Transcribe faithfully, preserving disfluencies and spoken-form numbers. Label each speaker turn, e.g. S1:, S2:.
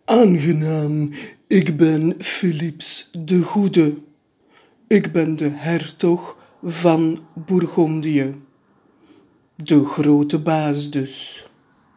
S1: Aangenaam, ik ben Philips de Goede. Ik ben de hertog van Bourgondië. De grote baas dus.